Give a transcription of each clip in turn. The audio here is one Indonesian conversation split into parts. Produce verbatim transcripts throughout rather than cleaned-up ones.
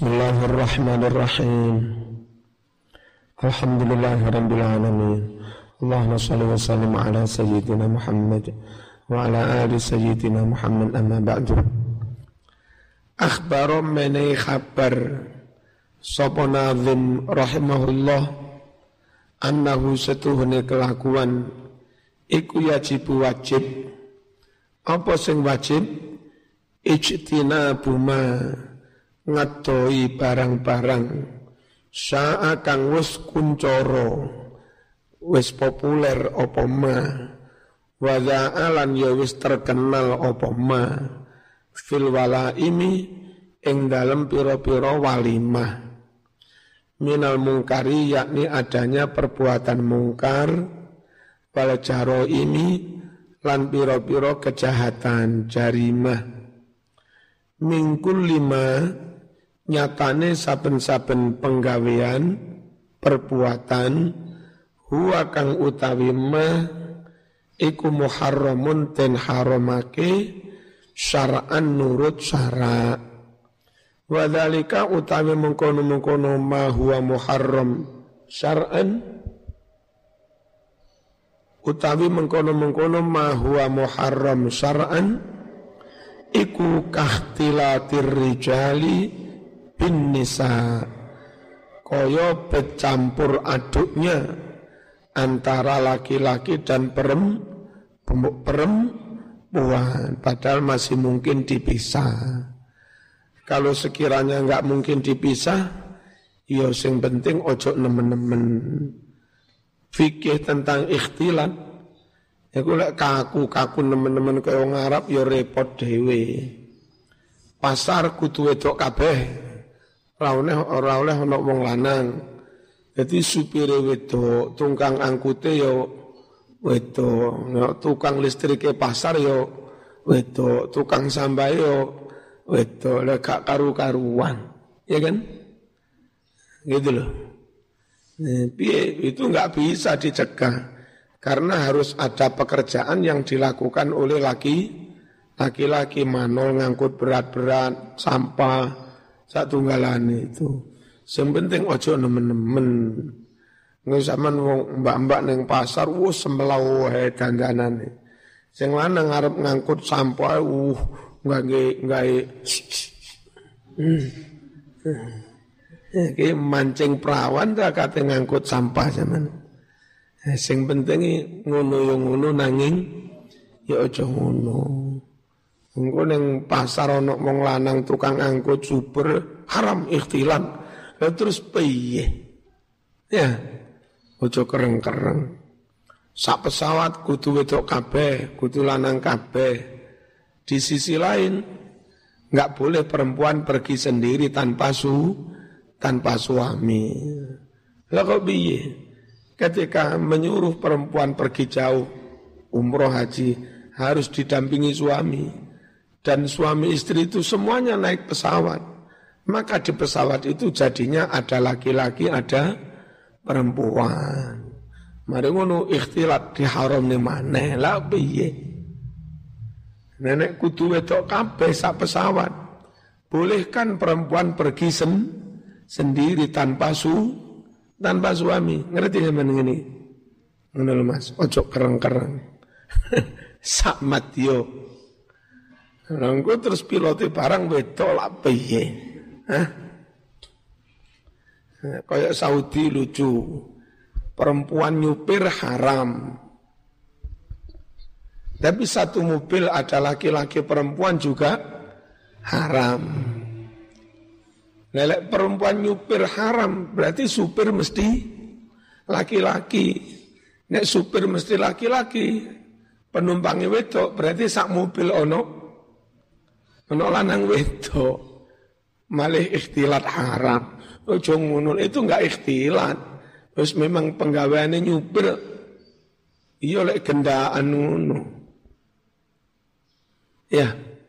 Bismillahirrahmanirrahim. Alhamdulillahirabbil alamin. Allahumma shalli wa sallim ala sayyidina Muhammad wa ala ali sayyidina Muhammad, amma ba'du. Akhbaro menai khabar sapa nazim rahimahullah annahu setuhune kelakuan iku yajibu wajib. Apa sing wajib? Ijtinabu ma ngadoi barang-barang sa'a kang wis kuncoro wis populer apa ma wa za'alan ya wis terkenal apa ma fil walaimi ing dalem pira-pira walimah minal mungkari, yakni adanya perbuatan mungkar wal jaraimi lan pira-pira kejahatan jarimah mingkul lima nyatane saben-saben penggawean perbuatan huwa kang utawi ma iku muharramun ten haramake syar'an nurut syara' wa dzalika utawi mengkono-mengkono ma huwa muharram syar'an utawi mengkono-mengkono ma huwa muharram syar'an iku kahtilatir rijali bin nisa, kaya bercampur aduknya antara laki-laki dan perem, perempuan, padahal masih mungkin dipisah. Kalau sekiranya enggak mungkin dipisah, ya sing penting ojo nemen-nemen. Fikih tentang ikhtilat, ya kula kaku-kaku nemen-nemen kaya wong Arab ya repot dhewe. Pasar kudu wedok kabeh. Ora oleh ora oleh ana wong lanang. Dadi supire wedok, tukang angkute ya wedok, tukang listrike pasar ya wedok, tukang sampah ya wedok, lek gak karu-karuan. Ya kan? Gitu loh. Nah, piye itu enggak bisa dicegah. Karena harus ada pekerjaan yang dilakukan oleh laki, laki-laki manol ngangkut berat-berat, sampah, satunggalane itu. Yang penting ojo nemen-nemen. Nggak zaman mbak-mbak neng pasar, wuh sembelau wae dandanane. Sing lanang ngarep ngangkut sampah, uh nggak nggak Iki mancing perawan tak kate ngangkut sampah zaman. Sing penting ngono yo ngono nanging ya aja ngono. Engko ning pasar ana wong lanang tukang angkut super haram ikhtilat. Lah terus piye? Ya, aja kereng-kereng. Sak pesawat kudu wedok kabeh, kudu lanang kabeh. Di sisi lain enggak boleh perempuan pergi sendiri tanpa su tanpa suami. Lah kok piye? Ketika menyuruh perempuan pergi jauh, umroh haji, harus didampingi suami. Dan suami istri itu semuanya naik pesawat. Maka di pesawat itu jadinya ada laki-laki, ada perempuan. Mari ngono ikhtilat diharam ni maneh lah piye. Nenek kudu wedok kabeh sak pesawat. Bolehkan perempuan pergi sen, sendiri tanpa su tanpa suami. Ngerti sampean ngene? Ngono lho Mas, ojo kereng-kereng. Sak matyo. Nanggo terus pilote barang wedok lak piye? Hah? Kayak Saudi lucu. Perempuan nyupir haram. Tapi satu mobil ada laki-laki perempuan juga haram. Lelek perempuan nyupir haram, berarti supir mesti laki-laki. Nek supir mesti laki-laki, penumpangnya wedok, berarti sak mobil ono, ono lanang wedok. Malih ikhtilat haram. Ojo ngono, itu enggak ikhtilat. Terus memang penggaweane nyupir, iya lek gendaan ngono. Ya.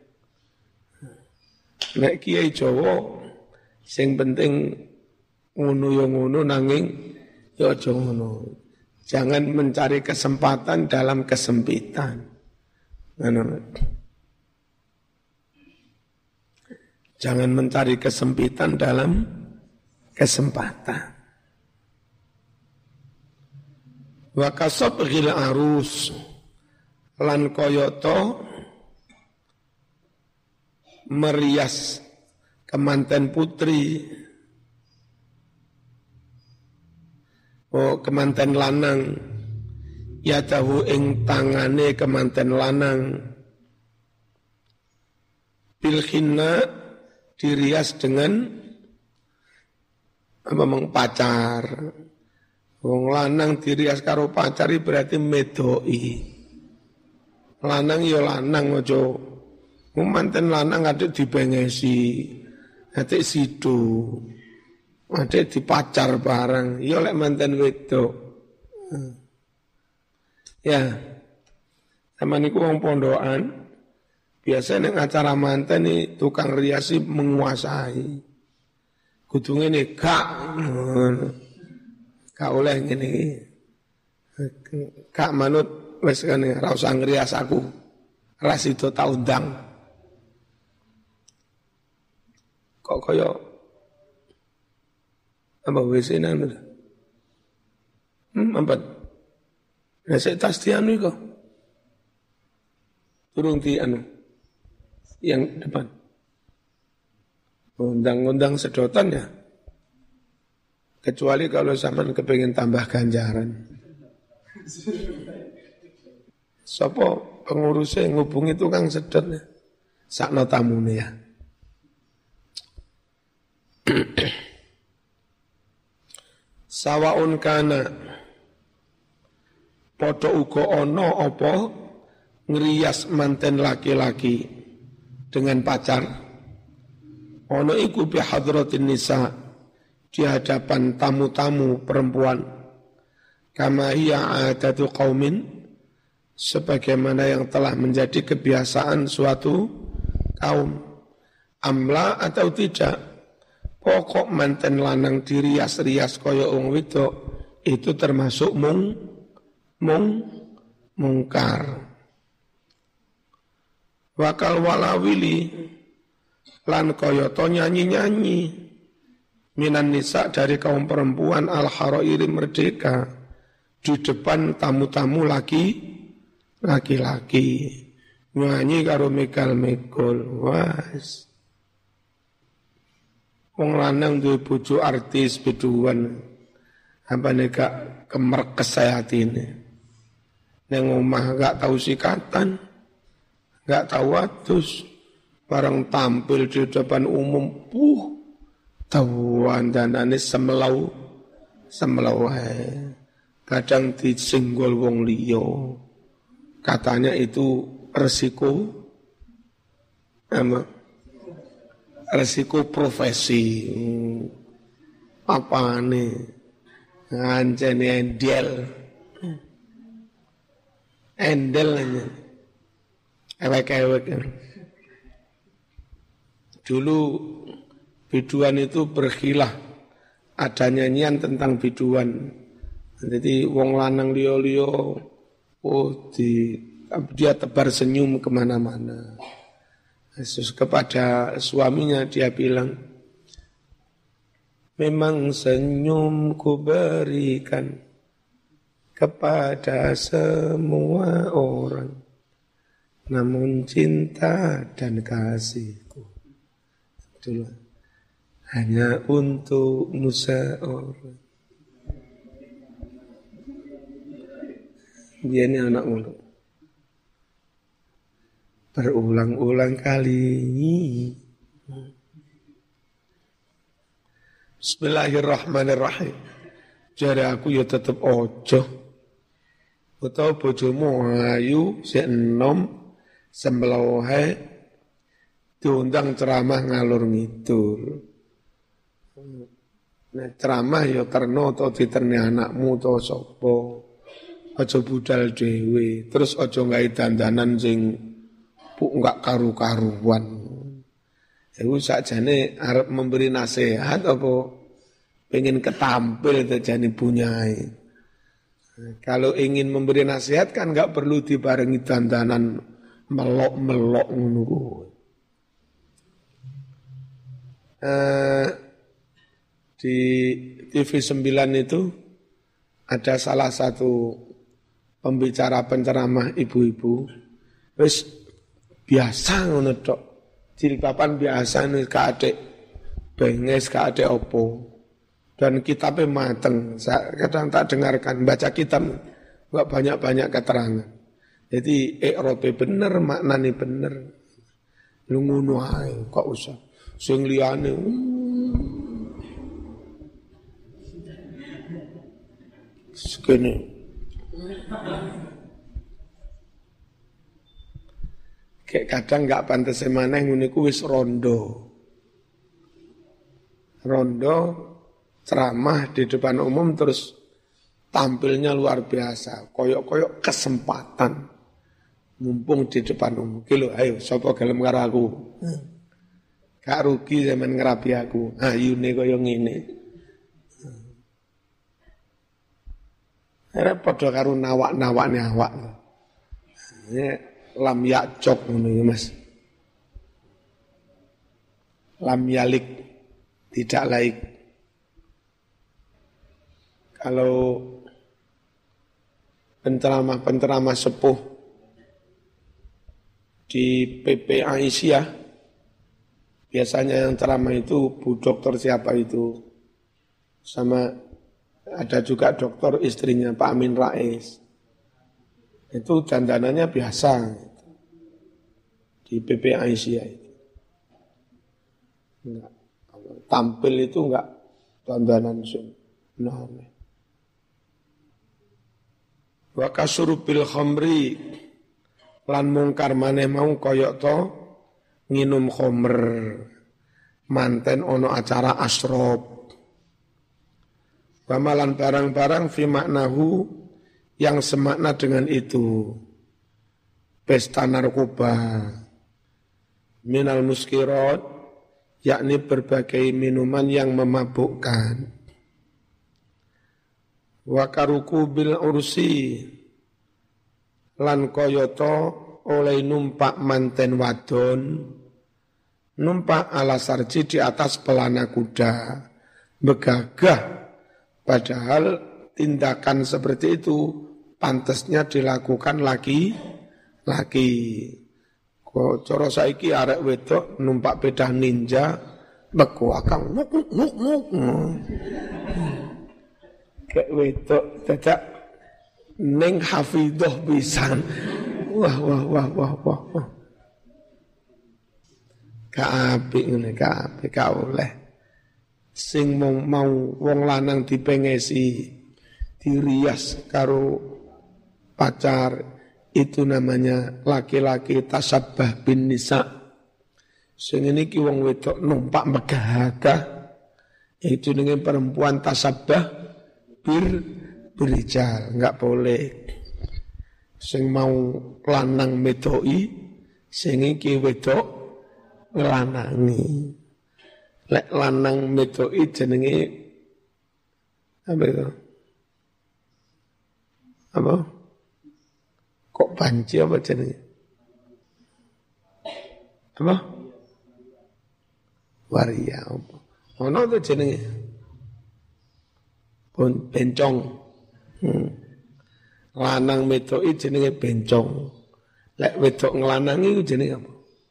Nek kiai Jawa sing penting ngono yo ngono nanging yo aja ngono. Jangan mencari kesempatan dalam kesempitan. Ngono. Jangan mencari kesempitan dalam kesempatan. Wa kasabghil arus lan koyoto merias kemanten putri, oh kemanten lanang, ya tahu ing tangane kemanten lanang, bilhinna dirias dengan apa mengpacar. Wong lanang dirias karo pacari berarti medoi. Lanang ya lanang aja. Manten lanang adek dibengesi, adek sidu, adek dipacar bareng. Ya lek manten wedok. Ya, sama niku wong pondokan. Biasanya ning acara manten nih tukang riasi menguasai. Kudunge nih gak. Kak oleh ngene iki. Kak manut wis kene ra usah ngrias aku. Ras itu tak undang. Kok kaya apa wis enan. Hmm, apa? Nek sik tas dianu iku. Turung di anu. Yang depan. Undang-undang sedotan ya. Kecuali kalau zaman kepengen tambah ganjaran. Sopo pengurusnya ngubungi tukang sedot ya. Sakno tamune ya. Sawaun kana padha uga ana apa ngrias manten laki-laki dengan pacar. Ana iku bi hadratin nisa di hadapan tamu-tamu perempuan, kama hiya adatu qaumin, sebagaimana yang telah menjadi kebiasaan suatu kaum, amla atau tidak, pokok manten lanang dirias-rias kaya wong wedok itu termasuk mung mung mungkar. Wakal walawili lan kaya to nyanyi-nyanyi minan nisa dari kaum perempuan al-harairi merdeka di depan tamu-tamu laki laki-laki nyanyi karo megal-megol was wong lanang duwe bojo artis biduan apa nek kemerkes atine ning omah gak tau sikatan gak tau adus bareng tampil di depan umum puh tawuan danane semelau semelau hai. Kadang disenggol wong liya. Katanya itu resiko apa? Resiko profesi. Apa nih? Ngancene endel. Endel aja. Ewek-ewek. Dulu biduan itu berkhilah, ada nyanyian tentang biduan. Jadi wong lanang liyo-liyo, oh di, dia tebar senyum kemana-mana. Yesus kepada suaminya dia bilang, memang senyumku berikan kepada semua orang, namun cinta dan kasihku itulah hanya untukmu seorang. Dia ini anak mulu. Berulang-ulang kali. Bismillahirrahmanirrahim. Jare aku ya tetep ojo. Utawa bojomu ayu sik enom sembelaweh diundang ceramah ngalur ngidul. Nah, ceramah ya terno atau diterni anakmu atau sapa. Aja budal dhewe, terus aja gawe dandanan sing puk enggak karu-karuan. Iku sakjane arep memberi nasihat apa pengen ketampil terjadi punyai. Kalau ingin memberi nasihat kan enggak perlu dibarengi dandanan melok-melok ngono kuwi. eh, di T V sembilan itu ada salah satu pembicara penceramah ibu-ibu, wis biasa ngono tok, jilbaban biasa nih ka adek benges ka adek opo, dan kitabnya mateng. Saya kadang tak dengarkan baca kitab enggak banyak-banyak keterangan. Jadi ikrobe bener, maknane bener. Lu ngono ae kok usah sing liyane. Sekene. Kayak kadang enggak pantes maneh ngene ku wis rondo. Rondo ceramah di depan umum terus tampilnya luar biasa, koyok-koyok kesempatan mumpung di depan umum. Ki lho, ayo sapa gelem karo aku. Gak rugi zaman ngerapi aku. Ayune koyo ngene. Ora padha karo nawak-nawakne awak. Ini lam yakcok ngono ya, Mas. Lam yalik, tidak laik. Kalau penceramah-penceramah sepuh di P P Aisyah, biasanya yang ceramah itu Bu Dokter siapa itu, sama ada juga dokter istrinya Pak Amin Rais. Itu dandanannya biasa di P P Aisyah itu. Enggak, tampil itu enggak dandanan sunnah. Wa kasurubil khamri lan mungkar maneh mau koyok to nginum khamr manten ono acara asrob. Pamalan barang-barang fi maknahu yang semakna dengan itu. Pesta narkoba minal muskirat, yakni berbagai minuman yang memabukkan. Wa karuku bil ursi lan koyoto oleh numpak manten wadon, numpak ala sarji di atas pelana kuda, begagah, padahal tindakan seperti itu pantasnya dilakukan laki-laki. Kok cara saiki arek wedok numpak sepeda ninja beku akang nuk nuk nuk nuk. Kayak wedok dadak ning hafidhah pisan. Wah wah wah wah wah wah. Ka apik ngene, ka apik ka oleh. Sing mau, mau wong lanang dipengesi dirias karo pacar, itu namanya laki-laki tasabbah bin nisa. Sing niki wong wedok numpak megah-gagah, itu dengan perempuan tasabbah bir berijal, enggak boleh. Sing mau lanang medoi, sing iki wedok lanangi. Lek lanang medoi jenenge apa itu? Apa? Kok banci apa jenenge? Apa? Waria apa? Ono to jenenge? Pun bencong. Hmm. Lanang medoi jenenge bencong. Lek wedok nglanangi iku jenenge apa?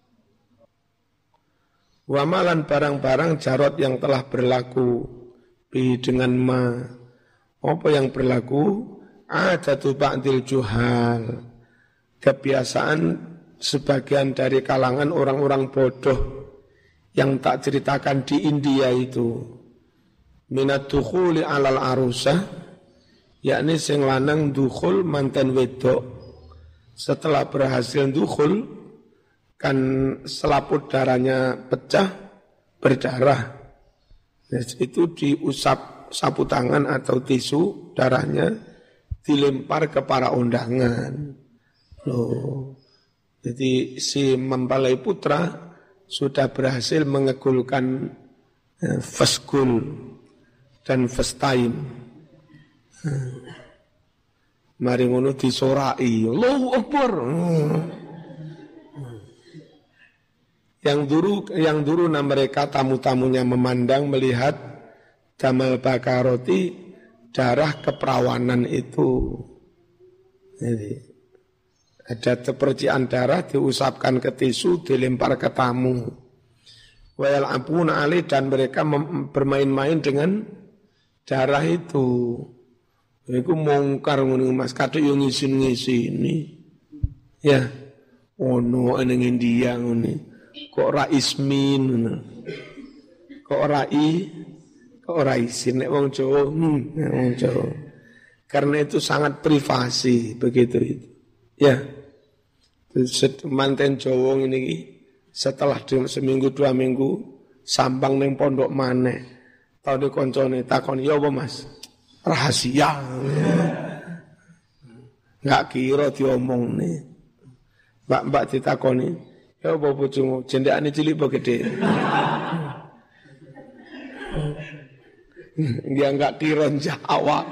Wamalan barang-barang jarot yang telah berlaku bi dengan ma. Apa yang berlaku? Adatu ba'dil juhal. Kebiasaan sebagian dari kalangan orang-orang bodoh yang tak ceritakan di India itu. Minat dukhuli alal arusah, yakni sing lanang dukhul manten wedok. Setelah berhasil dukhul, kan selaput darahnya pecah, berdarah. Itu diusap sapu tangan atau tisu, darahnya dilempar ke para undangan. Loh, jadi si mempelai putra sudah berhasil mengegulkan eh, fasgul dan festain. Hmm. Mari ngono disorai, Allahu Akbar. Hmm. Yang dulu yang dulu mereka tamu-tamunya memandang melihat damal bakaroti darah keperawanan itu. Jadi ada percikan darah diusapkan ke tisu dilempar ke tamu. Wa yal'abuna alaihi dan mereka mem- bermain-main dengan darah itu. Iku mongkar ngono Mas kadhe yo ngisin-ngisini. Ya. Ono ning India ngene. Kok ora ismin ngono. Kok ora i, kok ora isin nek wong Jawa, hmm, wong Jawa. Karena itu sangat privasi begitu itu. Ya. Manten Jawa ngene iki setelah seminggu dua minggu sambang ning pondok maneh. Tau koncone takon, "Ya apa Mas?" Rahasia. Enggak kira diomongne. Mbak-mbak ditakoni, "Ya apa bojomu? Jendekane cilik apa gede?" Dia enggak kira jawab.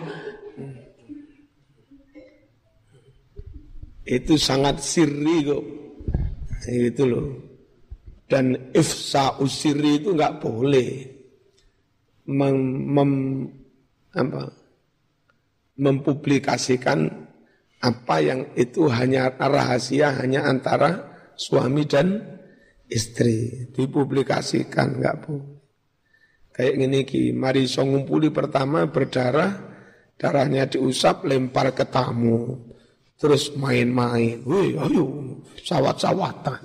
Itu sangat sirri kok. Itu loh. Dan ifsa usiri itu enggak boleh. Mem, mem, apa, mempublikasikan apa yang itu hanya rahasia hanya antara suami dan istri. Dipublikasikan enggak boleh. Kayak gini ki, mari so ngumpuli pertama berdarah, darahnya diusap lempar ke tamu. Terus main-main. Wih, ayo, sawat-sawatan.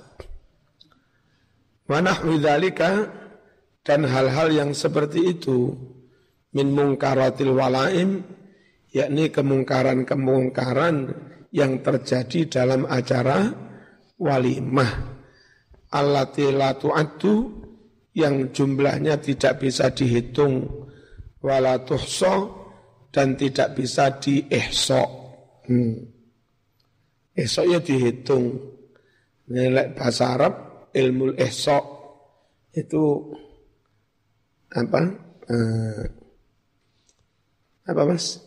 Wa nahwi dzalika dan hal-hal yang seperti itu min mungkaratil walaim, yakni kemungkaran-kemungkaran yang terjadi dalam acara walimah. Allati la tu'addu, yang jumlahnya tidak bisa dihitung, wala tuhsa, dan tidak bisa diihsa. Hmm. Ihsa'nya dihitung. Nilai bahasa Arab ilmu ihsa itu apa? Uh, apa Mas?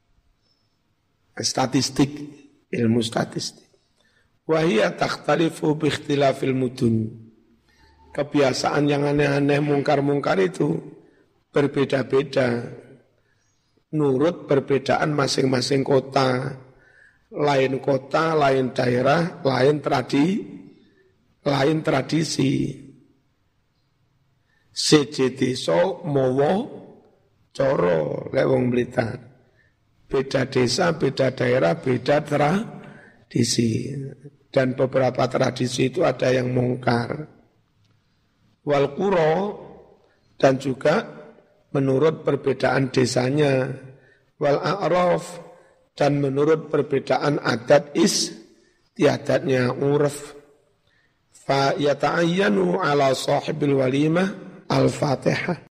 Statistik, ilmu statistik. Wa hiya takhtalifu bi ikhtilafil mudun. Kebiasaan yang aneh-aneh mungkar-mungkar itu berbeda-beda. Nurut perbedaan masing-masing kota. Lain kota, lain daerah, lain tradi, lain tradisi. Seje desa mawa cara lek wong Blitar. Beda desa, beda daerah, beda tradisi. Dan beberapa tradisi itu ada yang mungkar. Wal qura, dan juga menurut perbedaan desanya. Wal a'raf, dan menurut perbedaan adat istiadatnya urf. Fa yata'ayyanu ala sahibil walimah al-Fatihah.